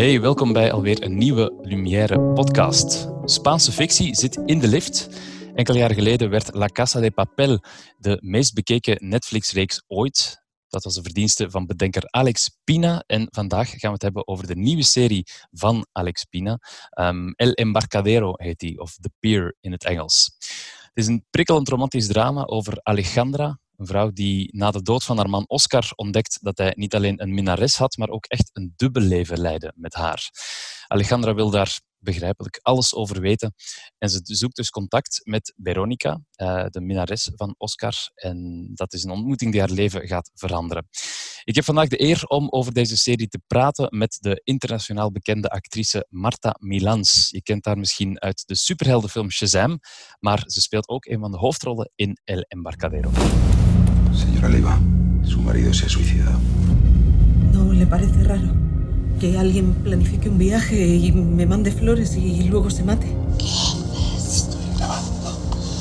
Hey, welkom bij alweer een nieuwe Lumière podcast. Spaanse fictie zit in de lift. Enkele jaren geleden werd La Casa de Papel de meest bekeken Netflix-reeks ooit. Dat was de verdienste van bedenker Alex Pina. En vandaag gaan we het hebben over de nieuwe serie van Alex Pina. El Embarcadero heet die, of The Pier in het Engels. Het is een prikkelend romantisch drama over Alejandra, een vrouw die na de dood van haar man Oscar ontdekt dat hij niet alleen een minnares had, maar ook echt een dubbel leven leidde met haar. Alejandra wil daar begrijpelijk alles over weten. En ze zoekt dus contact met Veronica, de minnares van Oscar. En dat is een ontmoeting die haar leven gaat veranderen. Ik heb vandaag de eer om over deze serie te praten met de internationaal bekende actrice Marta Milans. Je kent haar misschien uit de superheldenfilm Shazam, maar ze speelt ook een van de hoofdrollen in El Embarcadero. Señora Leiva, su marido se ha suicidado. ¿No le parece raro que alguien planifique un viaje y me mande flores y luego se mate? Estoy grabando.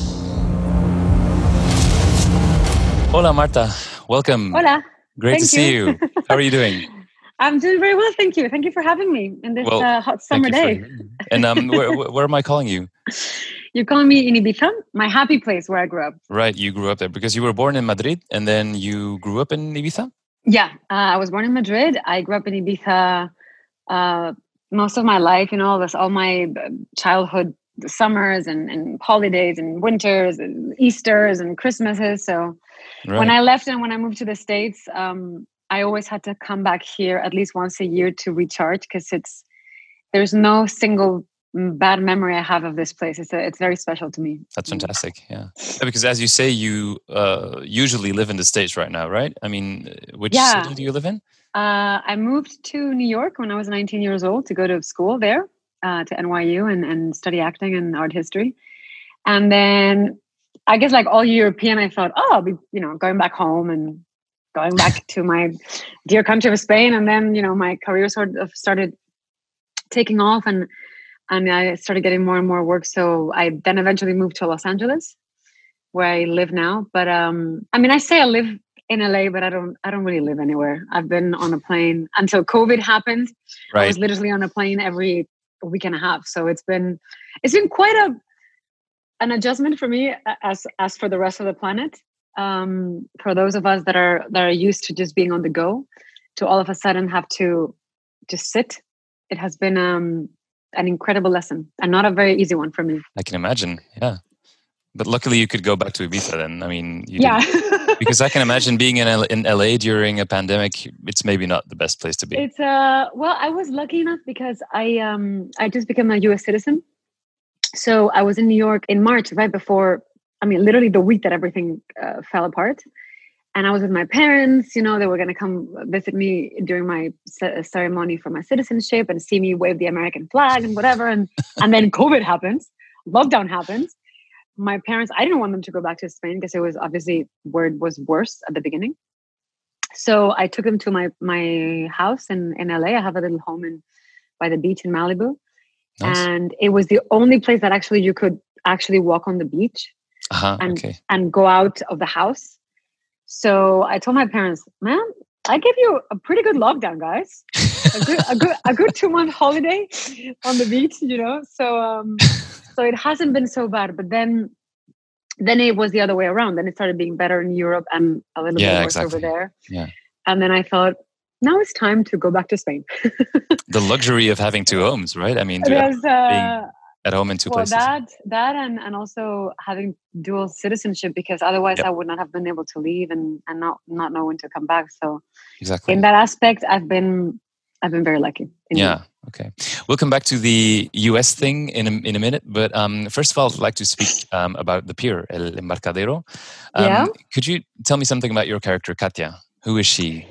Hola Marta, welcome. Hola. Great to see you. How are you doing? I'm doing very well, thank you. Thank you for having me in this hot summer day. And where am I calling you? You're calling me in Ibiza, my happy place where I grew up. Right, you grew up there because you were born in Madrid and then you grew up in Ibiza? Yeah, I was born in Madrid. I grew up in Ibiza most of my life, all my childhood summers and holidays and winters and Easters and Christmases. So when I left and when I moved to the States, I always had to come back here at least once a year to recharge because there's no single bad memory I have of this place. It's very special to me. That's fantastic. Yeah, because as you say, you usually live in the States right now, right? I mean, which city do you live in? I moved to New York when I was 19 years old to go to school there, to NYU and study acting and art history. And then I guess like all European, I thought, I'll be, going back home and going back to my dear country of Spain. And then, my career sort of started taking off and I started getting more and more work. So I then eventually moved to Los Angeles, where I live now. But I say I live in LA, but I don't really live anywhere. I've been on a plane until COVID happened. Right. I was literally on a plane every week and a half. So it's been quite an adjustment for me as for the rest of the planet. For those of us that are used to just being on the go, to all of a sudden have to just sit. It has been an incredible lesson and not a very easy one for me. I can imagine, yeah. But luckily you could go back to Ibiza then. I mean, because I can imagine being in LA during a pandemic, it's maybe not the best place to be. It's I was lucky enough because I just became a US citizen. So I was in New York in March, right before, literally the week that everything fell apart. And I was with my parents, they were going to come visit me during my ceremony for my citizenship and see me wave the American flag and whatever. And then COVID happens, lockdown happens. My parents, I didn't want them to go back to Spain because it was obviously where it was worse at the beginning. So I took them to my house in LA. I have a little home by the beach in Malibu. Nice. And it was the only place that actually you could actually walk on the beach and go out of the house. So I told my parents, man, I gave you a pretty good lockdown, guys. a good 2-month holiday on the beach, So it hasn't been so bad. But then it was the other way around. Then it started being better in Europe and a little bit worse over there. Yeah. And then I thought, now it's time to go back to Spain. The luxury of having two homes, right? I mean, being at home in two places. That and also having dual citizenship, because otherwise I would not have been able to leave and not know when to come back. So exactly in that aspect, I've been very lucky. Yeah. Okay. We'll come back to the US thing in a minute, but first of all, I'd like to speak about the pier, El Embarcadero. Could you tell me something about your character, Katia? Who is she?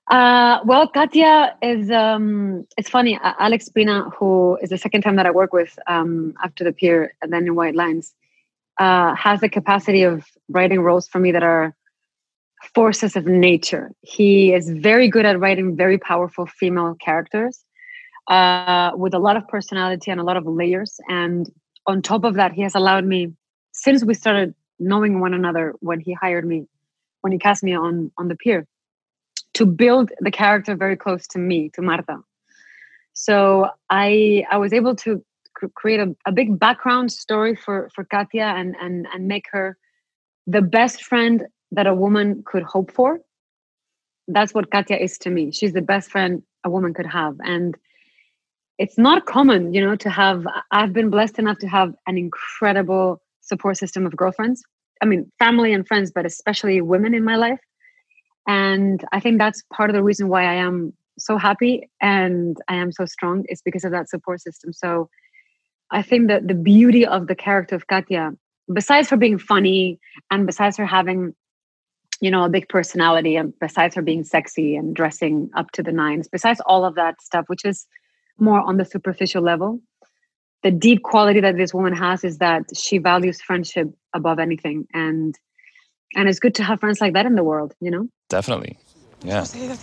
Katia is, it's funny, Alex Pina, who is the second time that I work with after the pier and then in White Lines, has the capacity of writing roles for me that are forces of nature. He is very good at writing very powerful female characters with a lot of personality and a lot of layers. And on top of that, he has allowed me, since we started knowing one another, when he cast me on the pier, to build the character very close to me, to Marta. So I was able to create a big background story for Katya and make her the best friend that a woman could hope for. That's what Katya is to me. She's the best friend a woman could have. And it's not common, to have, I've been blessed enough to have an incredible support system of girlfriends. I mean, family and friends, but especially women in my life. And I think that's part of the reason why I am so happy and I am so strong is because of that support system. So I think that the beauty of the character of Katya, besides her being funny and besides her having, a big personality and besides her being sexy and dressing up to the nines, besides all of that stuff, which is more on the superficial level, the deep quality that this woman has is that she values friendship above anything. And it's good to have friends like that in the world, Definitely. Yeah.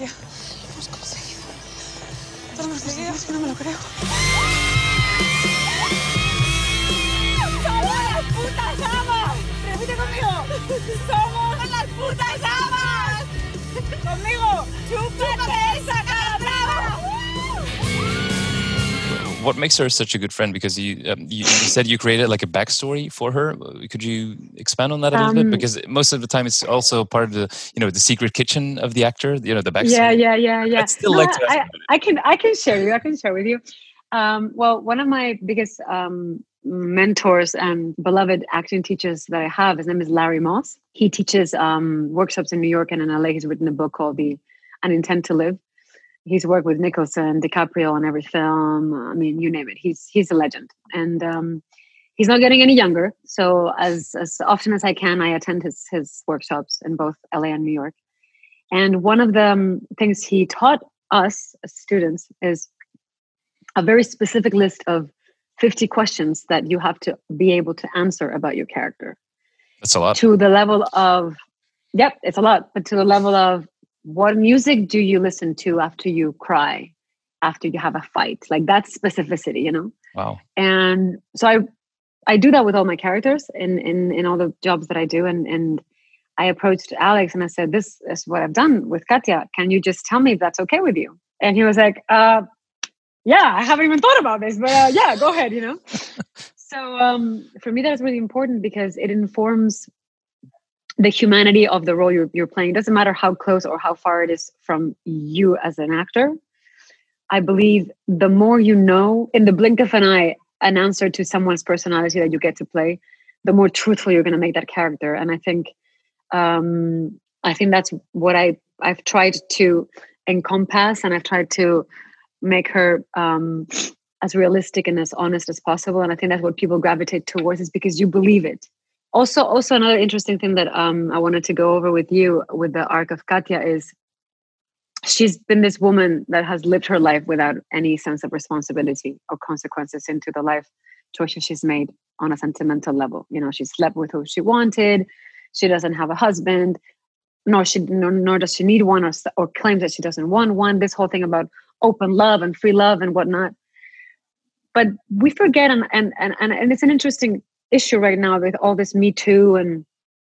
¡Somos las putas amas! ¡Conmigo! ¡Chúpate esa cara brava! What makes her such a good friend? Because you said you created like a backstory for her. Could you expand on that a little bit? Because most of the time it's also part of the the secret kitchen of the actor. The backstory. Yeah. I'd still like to ask I can share you. I can share with you. Well, one of my biggest mentors and beloved acting teachers that I have, his name is Larry Moss. He teaches workshops in New York and in LA. He's written a book called An Intent to Live. He's worked with Nicholson, DiCaprio on every film. I mean, you name it. He's a legend. And he's not getting any younger. So as often as I can, I attend his workshops in both LA and New York. And one of the things he taught us as students is a very specific list of 50 questions that you have to be able to answer about your character. That's a lot. To the level of, it's a lot, but to the level of what music do you listen to after you cry, after you have a fight? Like that specificity, Wow. And so I do that with all my characters in all the jobs that I do. And I approached Alex and I said, this is what I've done with Katya. Can you just tell me if that's okay with you? And he was like, yeah, I haven't even thought about this, but yeah, go ahead, So for me, that's really important because it informs the humanity of the role you're playing. It doesn't matter how close or how far it is from you as an actor. I believe the more you know, in the blink of an eye, an answer to someone's personality that you get to play, the more truthful you're going to make that character. And I think that's what I've tried to encompass, and I've tried to make her as realistic and as honest as possible. And I think that's what people gravitate towards, is because you believe it. Also another interesting thing that I wanted to go over with you with the arc of Katya is she's been this woman that has lived her life without any sense of responsibility or consequences into the life choices she's made on a sentimental level. She slept with who she wanted. She doesn't have a husband, nor does she need one, or claims that she doesn't want one. This whole thing about open love and free love and whatnot. But we forget, and it's an interesting issue right now with all this Me Too and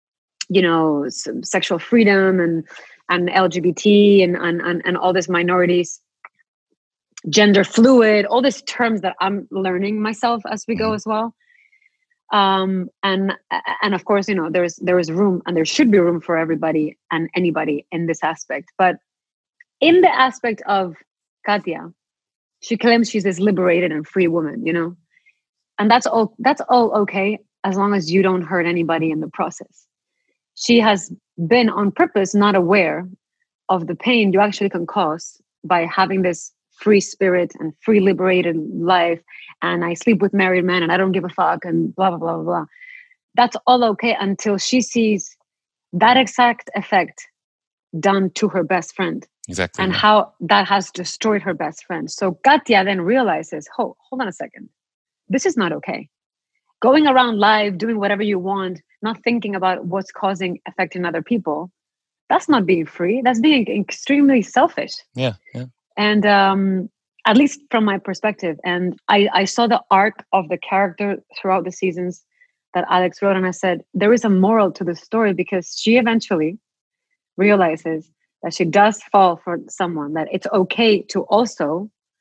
sexual freedom and LGBT and all these minorities, gender fluid, all these terms that I'm learning myself as we go as well. And of course, there is room, and there should be room for everybody and anybody in this aspect. But in the aspect of Katya, she claims she's this liberated and free woman, and that's all okay, as long as you don't hurt anybody in the process. She has been on purpose not aware of the pain you actually can cause by having this free spirit and free liberated life. And I sleep with married men and I don't give a fuck and blah, blah, blah, blah, blah. That's all okay until she sees that exact effect done to her best friend. Exactly. And how that has destroyed her best friend. So Katya then realizes, hold on a second. This is not okay. Going around life, doing whatever you want, not thinking about what's affecting other people. That's not being free. That's being extremely selfish. Yeah. And at least from my perspective. And I saw the arc of the character throughout the seasons that Alex wrote. And I said, there is a moral to the story, because she eventually realizes that she does fall for someone, that it's okay to also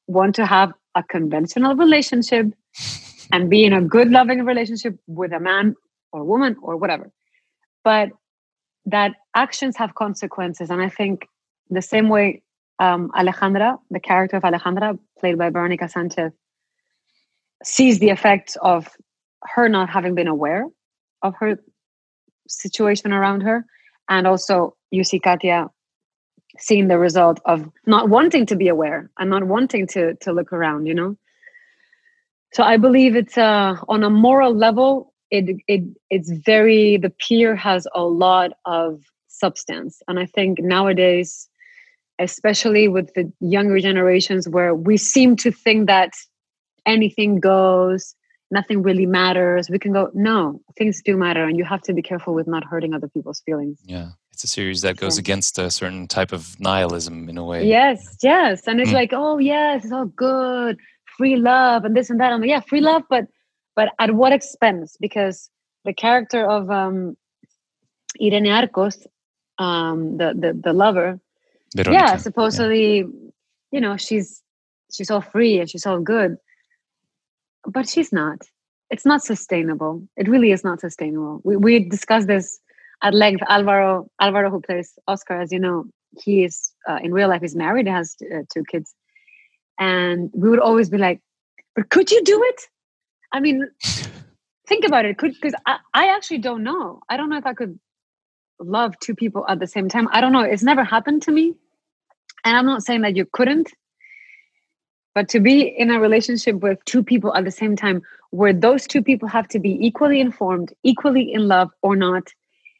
want to have a conventional relationship and be in a good, loving relationship with a man or woman or whatever. But that actions have consequences. And I think the same way Alejandra, the character of Alejandra, played by Veronica Sanchez, sees the effects of her not having been aware of her situation around her. And also you see Katia seeing the result of not wanting to be aware and not wanting to look around, you know? So I believe it's on a moral level, it's very, the Pier has a lot of substance. And I think nowadays, especially with the younger generations, where we seem to think that anything goes, nothing really matters, we can go, no, things do matter, and you have to be careful with not hurting other people's feelings. Yeah, it's a series that goes against a certain type of nihilism in a way. Yes. And it's like, oh yes, it's all good, free love and this and that. I'm like, yeah, free love, but at what expense? Because the character of Irene Arcos, the lover, Veronica, yeah, supposedly, you know, she's all free and she's all good, but she's not. It's not sustainable. It really is not sustainable. We discussed this at length. Alvaro, who plays Oscar, as you know, he is in real life, he's married, has 2 kids, and we would always be like, but could you do it? I mean, think about it. Because I actually don't know. I don't know if I could love 2 people at the same time. I don't know. It's never happened to me. And I'm not saying that you couldn't. But to be in a relationship with 2 people at the same time, where those 2 people have to be equally informed, equally in love or not,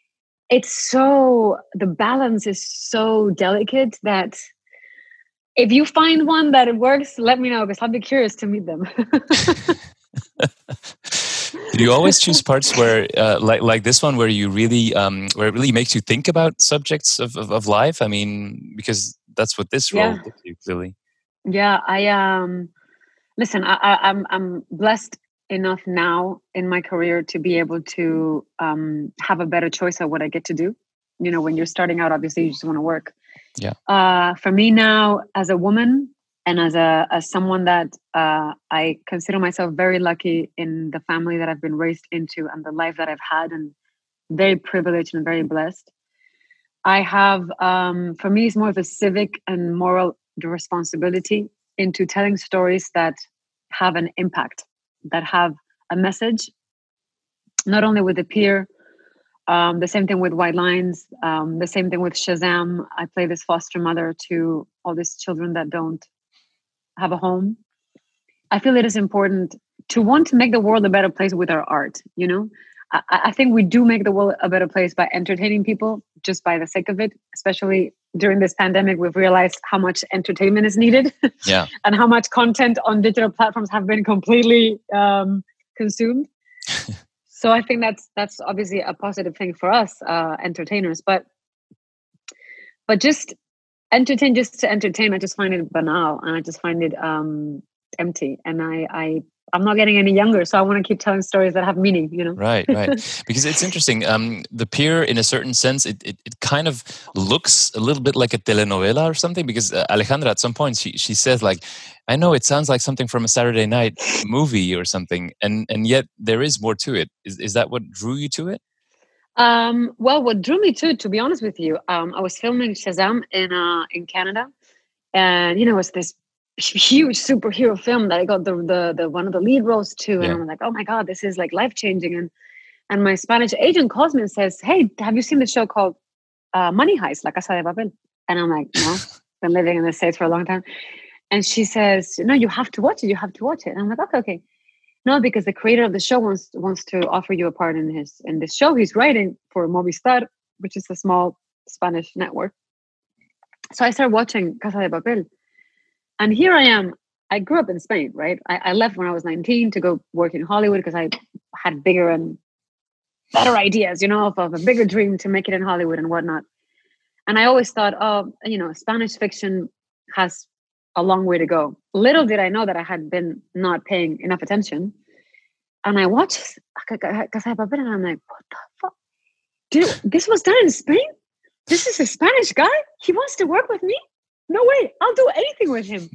the balance is so delicate that if you find one that it works, let me know, because I'll be curious to meet them. Do you always choose parts where, like this one, where you really, where it really makes you think about subjects of life? I mean, because that's what this role did to you, clearly. Yeah, listen, I'm blessed enough now in my career to be able to have a better choice of what I get to do. You know, when you're starting out, obviously you just want to work. Yeah. For me now, as a woman and as someone that I consider myself very lucky in the family that I've been raised into and the life that I've had, and very privileged and very blessed. I have, for me, it's more of a civic and moral responsibility into telling stories that have an impact, that have a message, not only with the Pier, the same thing with White Lines, the same thing with Shazam. I play this foster mother to all these children that don't have a home. I feel it is important to want to make the world a better place with our art, you know? I think we do make the world a better place by entertaining people just by the sake of it. Especially during this pandemic, we've realized how much entertainment is needed, and how much content on digital platforms have been completely consumed. So I think that's obviously a positive thing for us, entertainers. But just entertain just to entertain, I just find it banal, and I just find it empty. And I'm not getting any younger, so I want to keep telling stories that have meaning, you know? Right. Because it's interesting. The Pier, in a certain sense, it kind of looks a little bit like a telenovela or something, because Alejandra, at some point, she says, like, I know it sounds like something from a Saturday night movie or something, and yet there is more to it. Is that what drew you to it? Well, what drew me to be honest with you, I was filming Shazam in Canada, and, you know, it's this huge superhero film that I got the one of the lead roles to, and I'm like, oh my God, this is like life-changing. And my Spanish agent calls me and says, hey, have you seen the show called Money Heist, La Casa de Papel? And I'm like, no, been living in the States for a long time. And she says, no, you have to watch it. And I'm like, okay. No, because the creator of the show wants to offer you a part in this show he's writing for Movistar, which is a small Spanish network. So I started watching Casa de Papel. And here I am. I grew up in Spain, right? I left when I was 19 to go work in Hollywood because I had bigger and better ideas, you know, of a bigger dream to make it in Hollywood and whatnot. And I always thought, oh, you know, Spanish fiction has a long way to go. Little did I know that I had been not paying enough attention. And I watched Casa de Papel, and I'm like, what the fuck? Dude, this was done in Spain? This is a Spanish guy? He wants to work with me? No way, I'll do anything with him.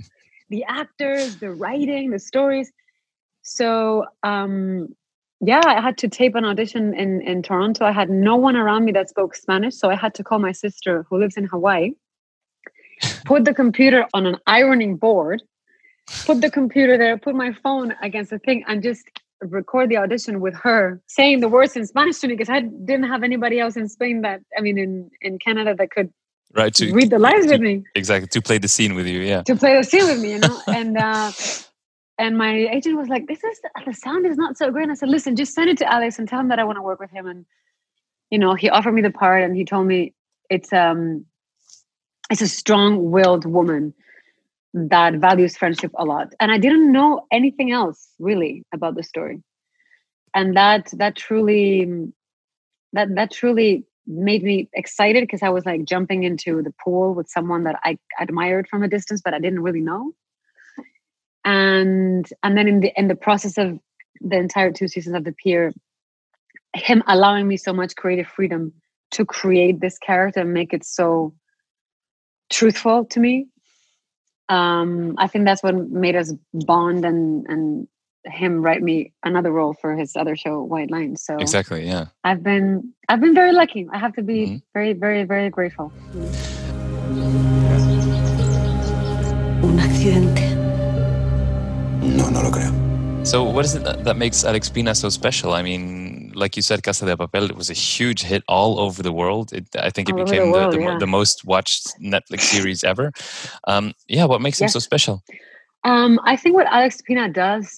the actors, the writing, the stories. So I had to tape an audition in Toronto. I had no one around me that spoke Spanish, so I had to call my sister who lives in Hawaii, put the computer on an ironing board, put the computer there, put my phone against the thing, and just record the audition with her saying the words in Spanish to me, because I didn't have anybody else in Spain in Canada that could read the lines with me. Exactly, to play the scene with you, yeah. To play the scene with me, And my agent was like, the sound is not so great. And I said, listen, just send it to Alex and tell him that I want to work with him. And, he offered me the part, and he told me it's a strong-willed woman that values friendship a lot. And I didn't know anything else really about the story. And that truly made me excited, because I was like jumping into the pool with someone that I admired from a distance, but I didn't really know. And then in the process of the entire 2 seasons of The Pier, him allowing me so much creative freedom to create this character and make it so truthful to me. I think that's what made us bond, and him write me another role for his other show, White Lines. So exactly, yeah. I've been very lucky. I have to be very, very, very grateful. Un accidente. No, no lo creo. So what is it that makes Alex Pina so special? I mean, like you said, Casa de Papel, it was a huge hit all over the world. I think it became the most watched Netflix series ever. What makes him so special? I think what Alex Pina does,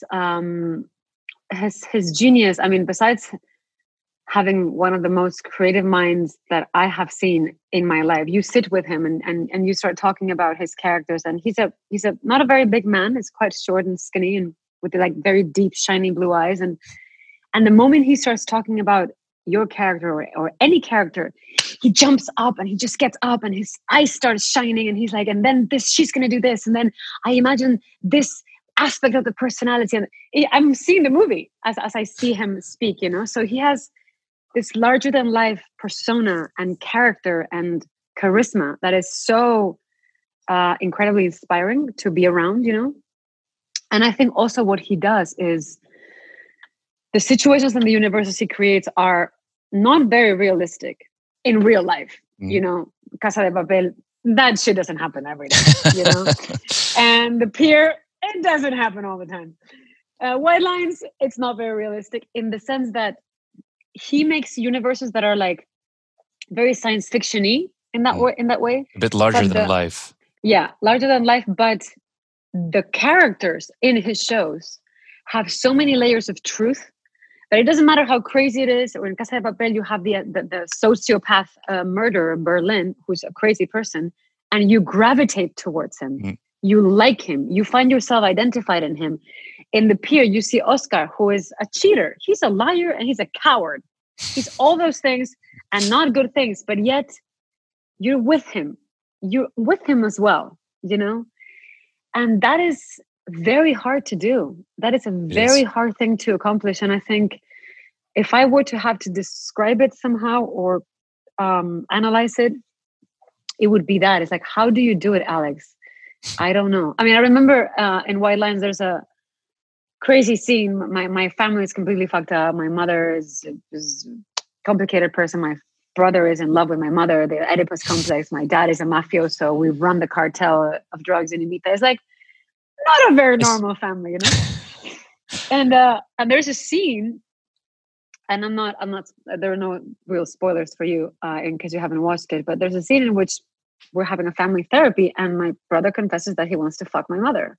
his genius, I mean, besides having one of the most creative minds that I have seen in my life, you sit with him and you start talking about his characters, and he's not a very big man. He's quite short and skinny, and with the, like, very deep, shiny blue eyes. And the moment he starts talking about your character or any character, he jumps up and he just gets up and his eyes start shining, and he's like, and then she's going to do this. And then I imagine this aspect of the personality. And I'm seeing the movie as I see him speak, So he has this larger than life persona and character and charisma that is so incredibly inspiring to be around, And I think also what he does is the situations and the universes he creates are not very realistic in real life. Casa de Papel, that shit doesn't happen every day, And The Pier, it doesn't happen all the time. White Lines, it's not very realistic in the sense that he makes universes that are like very science fiction-y in that way. A bit larger than life. Yeah, larger than life, but the characters in his shows have so many layers of truth that it doesn't matter how crazy it is. Or in Casa de Papel, you have the sociopath murderer, Berlin, who's a crazy person, and you gravitate towards him. You like him. You find yourself identified in him. In The Pier, you see Oscar, who is a cheater. He's a liar and he's a coward. He's all those things and not good things, but yet you're with him. You're with him as well, And that is very hard to do. That is a very hard thing to accomplish. And I think if I were to have to describe it somehow or analyze it, it would be that. It's like, how do you do it, Alex? I don't know. I mean, I remember in White Lines, there's a crazy scene. My family is completely fucked up. My mother is a complicated person. My brother is in love with my mother. The Oedipus complex. My dad is a mafioso. We run the cartel of drugs in Ibiza. It's like not a very normal family, And there's a scene, and I'm not. There are no real spoilers for you in case you haven't watched it. But there's a scene in which we're having a family therapy, and my brother confesses that he wants to fuck my mother.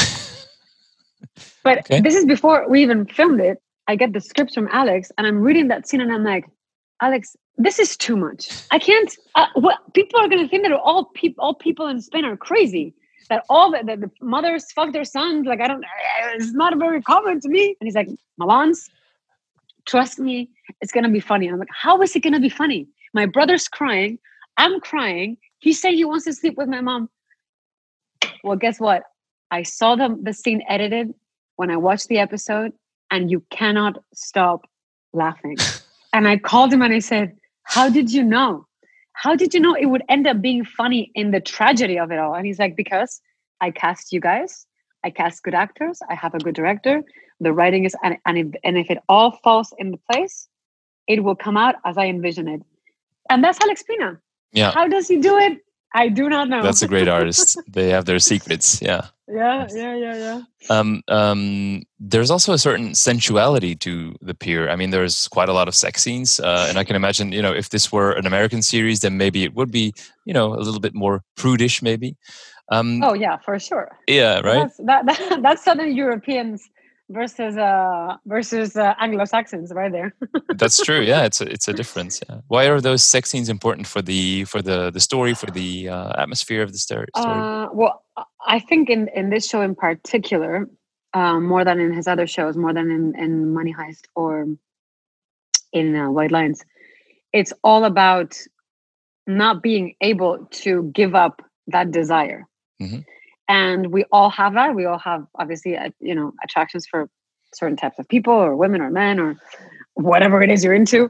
But This is before we even filmed it. I get the script from Alex, and I'm reading that scene, and I'm like, Alex, this is too much. I can't. What people are going to think that all people in Spain are crazy. That all the mothers fuck their sons. Like, it's not very common to me. And he's like, Malans, trust me, it's going to be funny. And I'm like, how is it going to be funny? My brother's crying. I'm crying. He's saying he wants to sleep with my mom. Well, guess what? I saw the scene edited when I watched the episode, and you cannot stop laughing. And I called him and I said, how did you know? How did you know it would end up being funny in the tragedy of it all? And he's like, because I cast you guys. I cast good actors. I have a good director. The writing is, and if it all falls into place, it will come out as I envision it. And that's Alex Pina. Yeah. How does he do it? I do not know. That's a great artist. They have their secrets. Yeah. Yeah. There's also a certain sensuality to The Pier. I mean, there's quite a lot of sex scenes, and I can imagine, if this were an American series, then maybe it would be, a little bit more prudish, maybe. Oh yeah, for sure. Yeah, right. That's Southern Europeans versus Anglo-Saxons, right there. That's true. Yeah, it's a difference. Yeah. Why are those sex scenes important for the story, for the atmosphere of the story? Well, I think in this show in particular, more than in his other shows, more than in Money Heist or in White Lines, it's all about not being able to give up that desire. Mm-hmm. And we all have that. We all have, obviously, attractions for certain types of people or women or men or whatever it is you're into.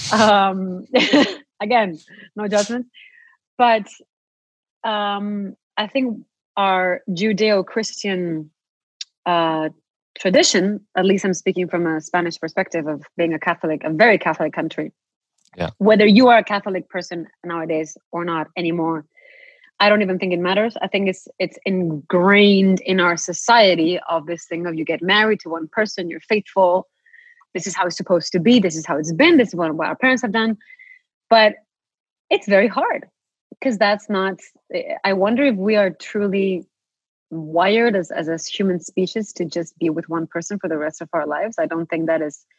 Again, no judgment. But I think our Judeo-Christian tradition, at least I'm speaking from a Spanish perspective of being a Catholic, a very Catholic country. Yeah. Whether you are a Catholic person nowadays or not anymore, I don't even think it matters. I think it's ingrained in our society of this thing of you get married to one person, you're faithful. This is how it's supposed to be. This is how it's been. This is what our parents have done. But it's very hard because that's not, I wonder if we are truly wired as human species to just be with one person for the rest of our lives. I don't think that is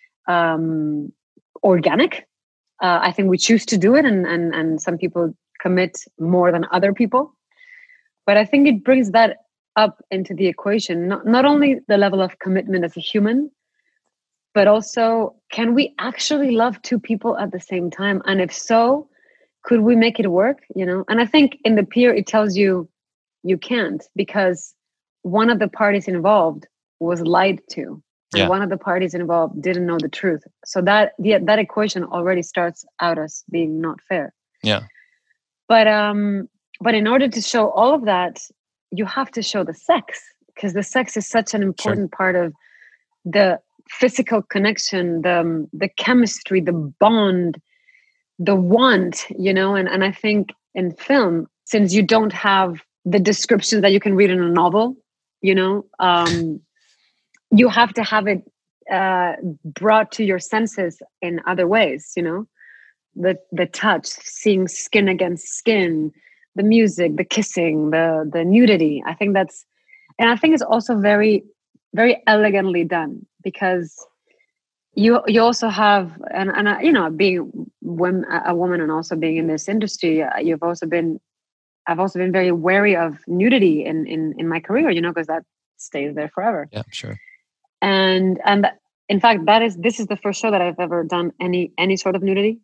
organic. I think we choose to do it and some people commit more than other people. But I think it brings that up into the equation, not only the level of commitment as a human, but also, can we actually love two people at the same time? And if so, could we make it work? And I think in The Pier, it tells you can't, because one of the parties involved was lied to. And one of the parties involved didn't know the truth. So that equation already starts out as being not fair. Yeah. But in order to show all of that, you have to show the sex, because the sex is such an important part of the physical connection, the chemistry, the bond, the want, and I think in film, since you don't have the descriptions that you can read in a novel, you have to have it brought to your senses in other ways, the touch, seeing skin against skin, the music, the kissing, the nudity. I think it's also very, very elegantly done, because you also have, and being a woman and also being in this industry, I've also been very wary of nudity in my career, because that stays there forever. Yeah, sure. And in fact, this is the first show that I've ever done any sort of nudity.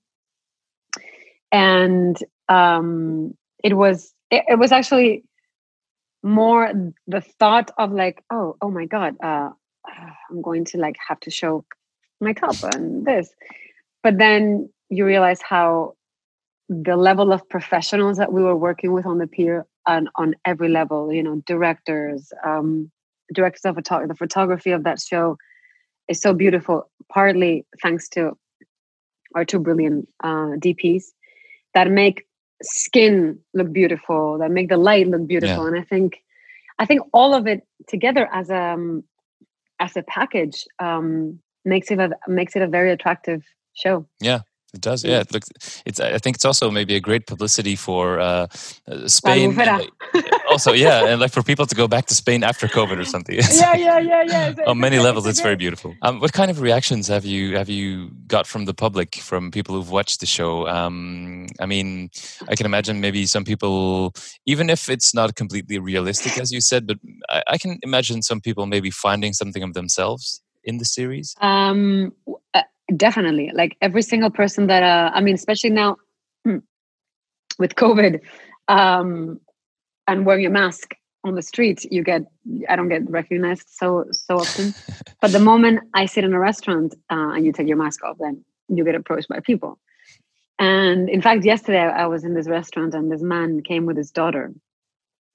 And it was actually more the thought of like, oh my God, I'm going to like have to show my top and this. But then you realize how the level of professionals that we were working with on The Pier and on every level, directors of the photography of that show is so beautiful, partly thanks to our two brilliant DPs that make skin look beautiful, that make the light look beautiful. And I think all of it together as a package makes it a very attractive show. Yeah, it does. Yeah, I think it's also maybe a great publicity for Spain. Also, and like for people to go back to Spain after COVID or something. Yeah. On many levels, it's very beautiful. What kind of reactions have you got from the public, from people who've watched the show? I mean, I can imagine maybe some people, even if it's not completely realistic, as you said, but I can imagine some people maybe finding something of themselves in the series. Definitely, like every single person that especially now with COVID and wearing a mask on the street, I don't get recognized so often. But the moment I sit in a restaurant and you take your mask off, then you get approached by people. And in fact, yesterday I was in this restaurant and this man came with his daughter,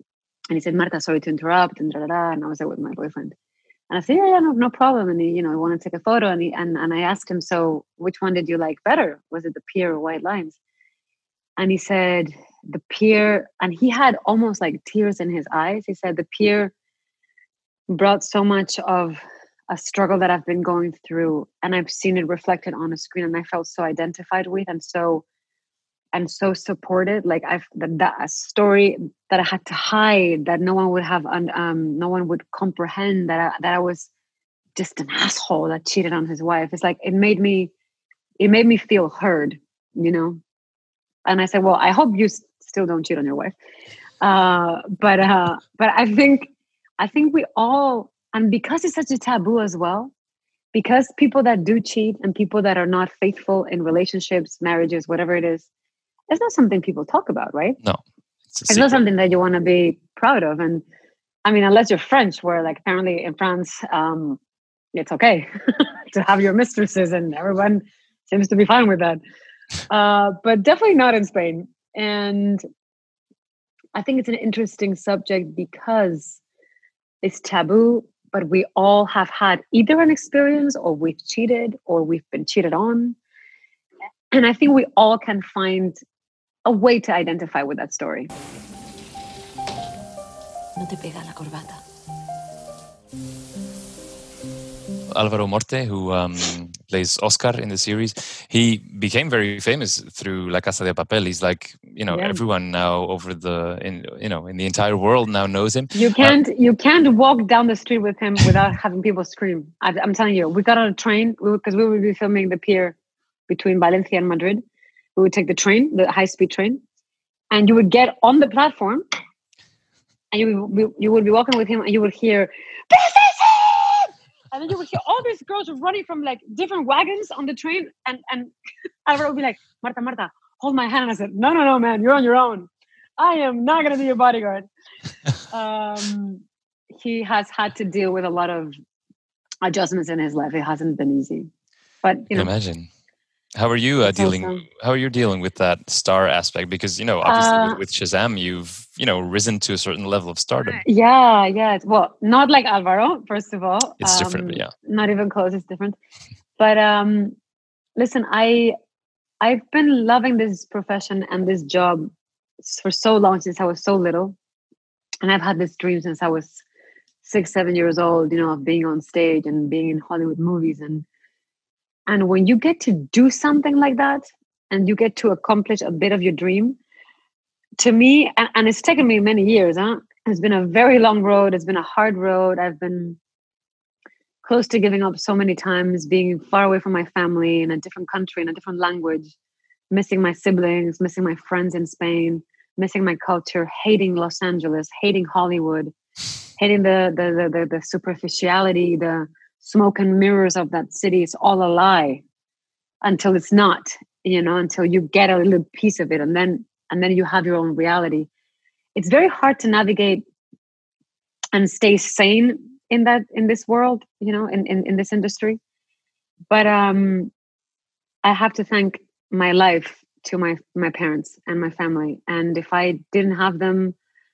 And he said, Marta, sorry to interrupt, and and I was there with my boyfriend. And I said, yeah, no problem. And he, I wanted to take a photo. And I asked him, so which one did you like better? Was it the pier or White Lines? And he said, the pier. And he had almost like tears in his eyes. He said, the pier brought so much of a struggle that I've been going through. And I've seen it reflected on a screen. And I felt so identified with and so supported. Like that a story that I had to hide, that no one would have, no one would comprehend, that I was just an asshole that cheated on his wife. It's like it made me feel heard, And I said, well, I hope you still don't cheat on your wife. But I think we all, and because it's such a taboo as well, because people that do cheat and people that are not faithful in relationships, marriages, whatever it is, it's not something people talk about, right? No. It's not something that you want to be proud of. And I mean, unless you're French, where like apparently in France, it's okay to have your mistresses and everyone seems to be fine with that. But definitely not in Spain. And I think it's an interesting subject because it's taboo, but we all have had either an experience or we've cheated or we've been cheated on. And I think we all can find a way to identify with that story. No te pega la corbata. Alvaro Morte, who plays Oscar in the series, he became very famous through La Casa de Papel. He's like, everyone now in the entire world now knows him. You can't walk down the street with him without having people scream. I'm telling you, we got on a train because we would be filming the pier between Valencia and Madrid. We would take the train, the high-speed train, and you would get on the platform, and you would be walking with him, and you would hear, "This is it!" And then you would hear all these girls running from like different wagons on the train, and Alvaro would be like, Marta, hold my hand. And I said, no, man, you're on your own. I am not going to be your bodyguard. He has had to deal with a lot of adjustments in his life. It hasn't been easy, but imagine. How are you dealing? How are you dealing with that star aspect? Because obviously with Shazam, you've risen to a certain level of stardom. Yeah. Well, not like Alvaro. First of all, it's different. Yeah, not even close. It's different. But listen, I've been loving this profession and this job for so long, since I was so little, and I've had this dream since I was 6-7 years old. Of being on stage and being in Hollywood movies And when you get to do something like that and you get to accomplish a bit of your dream, to me, and it's taken me many years, it's been a very long road. It's been a hard road. I've been close to giving up so many times, being far away from my family in a different country, in a different language, missing my siblings, missing my friends in Spain, missing my culture, hating Los Angeles, hating Hollywood, hating the superficiality, the smoke and mirrors of that city. It's all a lie until it's not, until you get a little piece of it, and then you have your own reality. It's very hard to navigate and stay sane in this world, in this industry. But I have to thank my life to my parents and my family. And if I didn't have them,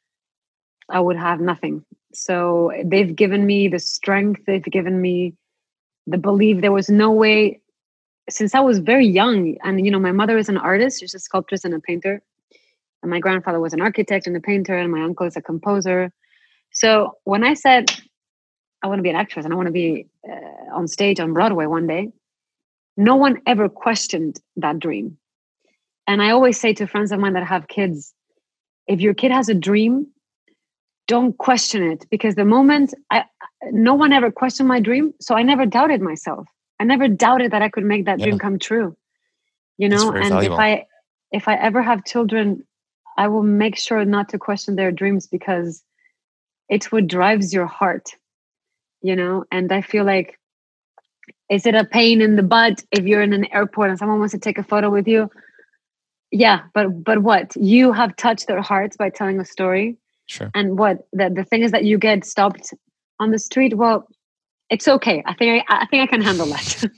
I would have nothing. So they've given me the strength. They've given me the belief. There was no way, since I was very young, and my mother is an artist. She's a sculptress and a painter, and my grandfather was an architect and a painter, and my uncle is a composer. So when I said I want to be an actress and I want to be on stage on Broadway one day, no one ever questioned that dream. And I always say to friends of mine that have kids, if your kid has a dream, don't question it, because the moment no one ever questioned my dream, so I never doubted myself. I never doubted that I could make that dream come true. And valuable. if I ever have children, I will make sure not to question their dreams, because it's what drives your heart. And I feel like, is it a pain in the butt if you're in an airport and someone wants to take a photo with you? Yeah, but what? You have touched their hearts by telling a story. Sure. And what the thing is that you get stopped on the street. Well, it's okay. I think I can handle that.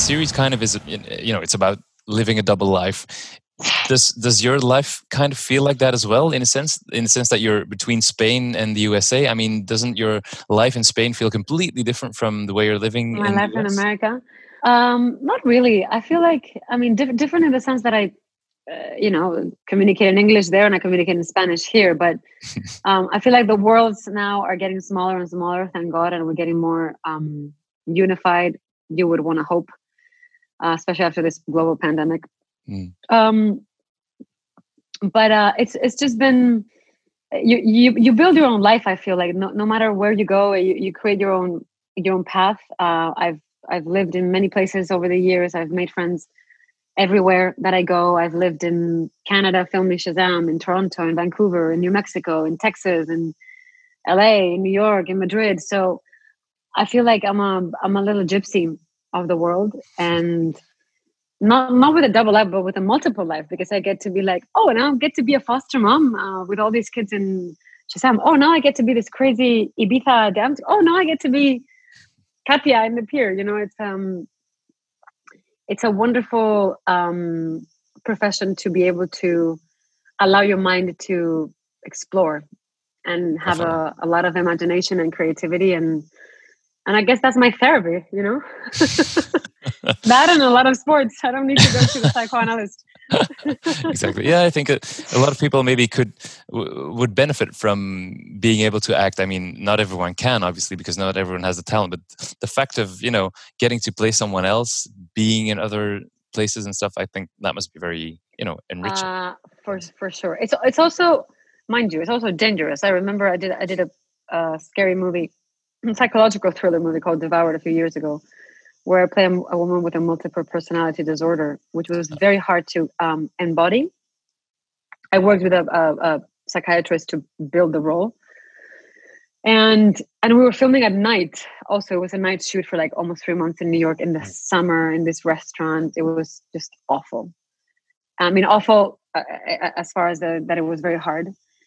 series kind of is, it's about living a double life. Does your life kind of feel like that as well, in a sense that you're between Spain and the USA? I mean, doesn't your life in Spain feel completely different from the way you're living My in life the US? in America? Not really. I feel like, different in the sense that I, communicate in English there and I communicate in Spanish here. But I feel like the worlds now are getting smaller and smaller, thank God, and we're getting more unified. You would want to hope, especially after this global pandemic. But it's just been you build your own life. I feel like no matter where you go, you create your own path. I've lived in many places over the years. I've made friends everywhere that I go. I've lived in Canada filming Shazam, in Toronto, in Vancouver, in New Mexico, in Texas, in LA, in New York, in Madrid. So I feel like I'm a little gypsy of the world, and not with a double life, but with a multiple life, because I get to be like, oh, now I get to be a foster mom with all these kids in Shazam. Oh, now I get to be this crazy Ibiza dance. Oh, now I get to be Katya in the pier. It's a wonderful profession to be able to allow your mind to explore and have a lot of imagination and creativity, and I guess that's my therapy, That and a lot of sports. I don't need to go to the psychoanalyst. Exactly. Yeah, I think a lot of people maybe would benefit from being able to act. I mean, not everyone can, obviously, because not everyone has the talent. But the fact of getting to play someone else, being in other places and stuff, I think that must be very enriching. For sure. It's also, mind you, it's also dangerous. I remember I did a scary movie, a psychological thriller movie called Devoured a few years ago, where I play a woman with a multiple personality disorder, which was very hard to embody. I worked with a psychiatrist to build the role. And we were filming at night. Also, it was a night shoot for like almost 3 months in New York in the summer in this restaurant. It was just awful. I mean, awful as far as that it was very hard.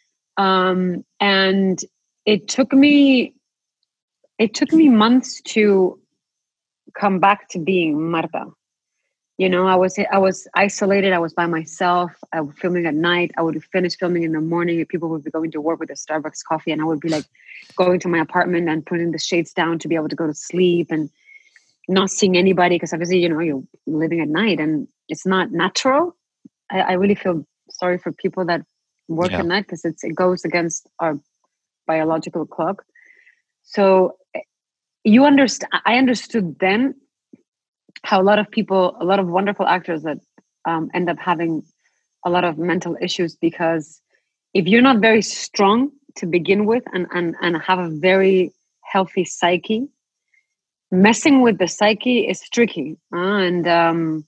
And it took me months to come back to being Marta. I was isolated. I was by myself. I was filming at night. I would finish filming in the morning. People would be going to work with a Starbucks coffee, and I would be like going to my apartment and putting the shades down to be able to go to sleep and not seeing anybody, because obviously, you're living at night and it's not natural. I really feel sorry for people that work at night, because it goes against our biological clock. So I understood then how a lot of wonderful actors that end up having a lot of mental issues, because if you're not very strong to begin with and have a very healthy psyche, messing with the psyche is tricky. I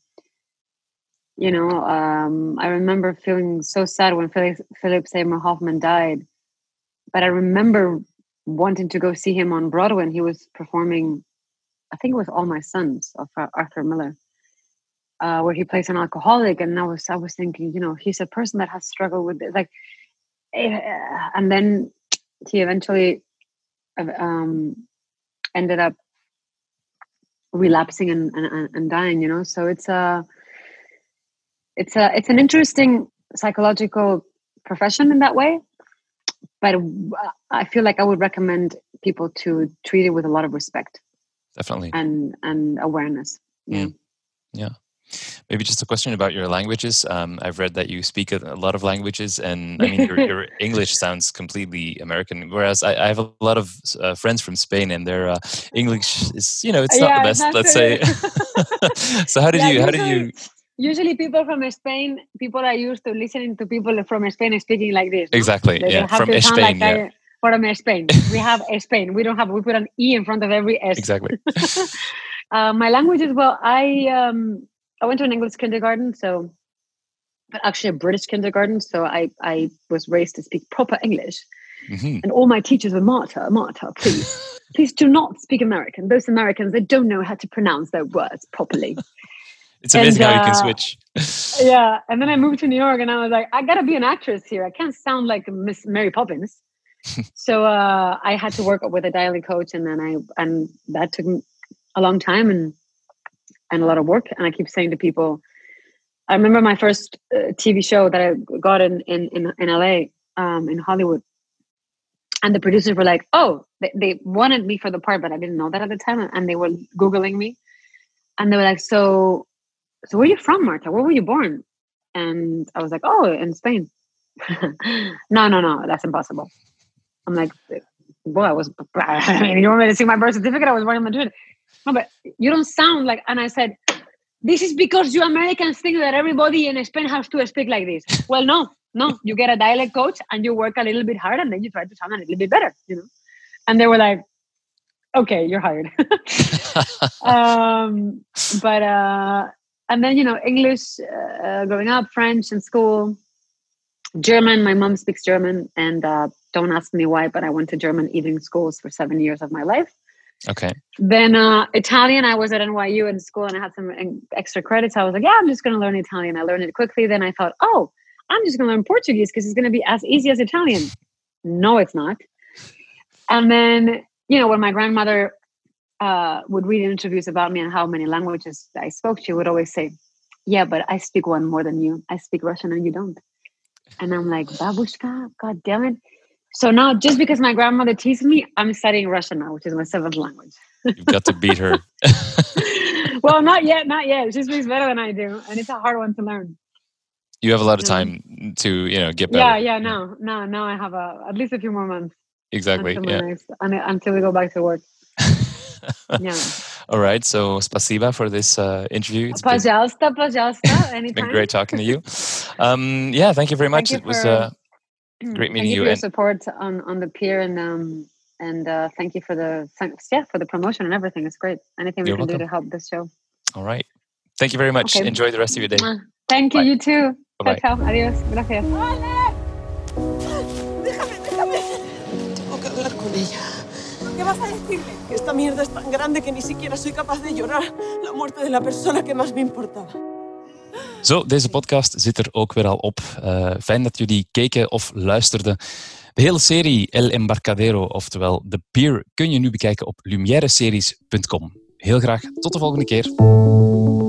remember feeling so sad when Philip Seymour Hoffman died, but I remember wanting to go see him on Broadway, and he was performing, I think it was All My Sons of Arthur Miller, where he plays an alcoholic. And I was thinking, he's a person that has struggled with it. Like, and then he eventually ended up relapsing and dying. So it's an interesting psychological profession in that way. But I feel like I would recommend people to treat it with a lot of respect. Definitely. And awareness. Yeah. Maybe just a question about your languages. I've read that you speak a lot of languages, and I mean, your English sounds completely American. Whereas I have a lot of friends from Spain, and their English is, it's not the best, let's say. So how did you? Usually people from Spain, people are used to listening to people from Spain speaking like this. No? Exactly. From Spain. From Spain. We have Spain. We put an E in front of every S. Exactly. My languages, well, I went to an English kindergarten, but actually a British kindergarten. So I was raised to speak proper English. Mm-hmm. And all my teachers were, Marta, please do not speak American. Those Americans, they don't know how to pronounce their words properly. It's amazing how you can switch. Yeah. And then I moved to New York, and I was like, I got to be an actress here. I can't sound like Miss Mary Poppins. So I had to work with a dialect coach, and that took a long time. And and a lot of work. And I keep saying to people, I remember my first TV show that I got in LA, in Hollywood. And the producers were like, oh, they wanted me for the part, but I didn't know that at the time. And they were Googling me. And they were like, so where are you from, Marta? Where were you born? And I was like, oh, in Spain. No, that's impossible. I'm like, well, you want me to see my birth certificate? I was born in Madrid. No, but you don't sound like, and I said, this is because you Americans think that everybody in Spain has to speak like this. Well, no, you get a dialect coach and you work a little bit hard and then you try to sound a little bit better, And they were like, okay, you're hired. And then, English, growing up, French in school, German. My mom speaks German, and don't ask me why, but I went to German evening schools for 7 years of my life. Okay. Then Italian, I was at NYU in school and I had some extra credits. I was like, yeah, I'm just going to learn Italian. I learned it quickly. Then I thought, oh, I'm just going to learn Portuguese because it's going to be as easy as Italian. No, it's not. And then, when my grandmother would read interviews about me and how many languages I spoke, she would always say, yeah, but I speak one more than you. I speak Russian and you don't. And I'm like, babushka, God damn it. So now, just because my grandmother teased me, I'm studying Russian now, which is my 7th language. You've got to beat her. Well, not yet. She speaks better than I do. And it's a hard one to learn. You have a lot of time to, get better. Yeah. Now I have at least a few more months. Exactly. Until we go back to work. Yeah. All right. So, spasiba for this interview. Пожалуйста. Anytime. It's been great talking to you. Thank you very much. It was great meeting you. Thank you for your support on the pier, and thank you for the promotion and everything. It's great. Anything we can do to help this show. All right. Thank you very much. Okay. Enjoy the rest of your day. Thank you. Bye. You too. Bye-bye. Ciao. Adiós. Gracias. ¡Vale! Déjame. Tengo que hablar con ella. ¿Qué vas a decirle? Que esta mierda es tan grande que ni siquiera soy capaz de llorar la muerte de la persona que más me importaba. Zo, deze podcast zit er ook weer al op. Fijn dat jullie keken of luisterden. De hele serie El Embarcadero, oftewel The Pier, kun je nu bekijken op lumiereseries.com. Heel graag tot de volgende keer.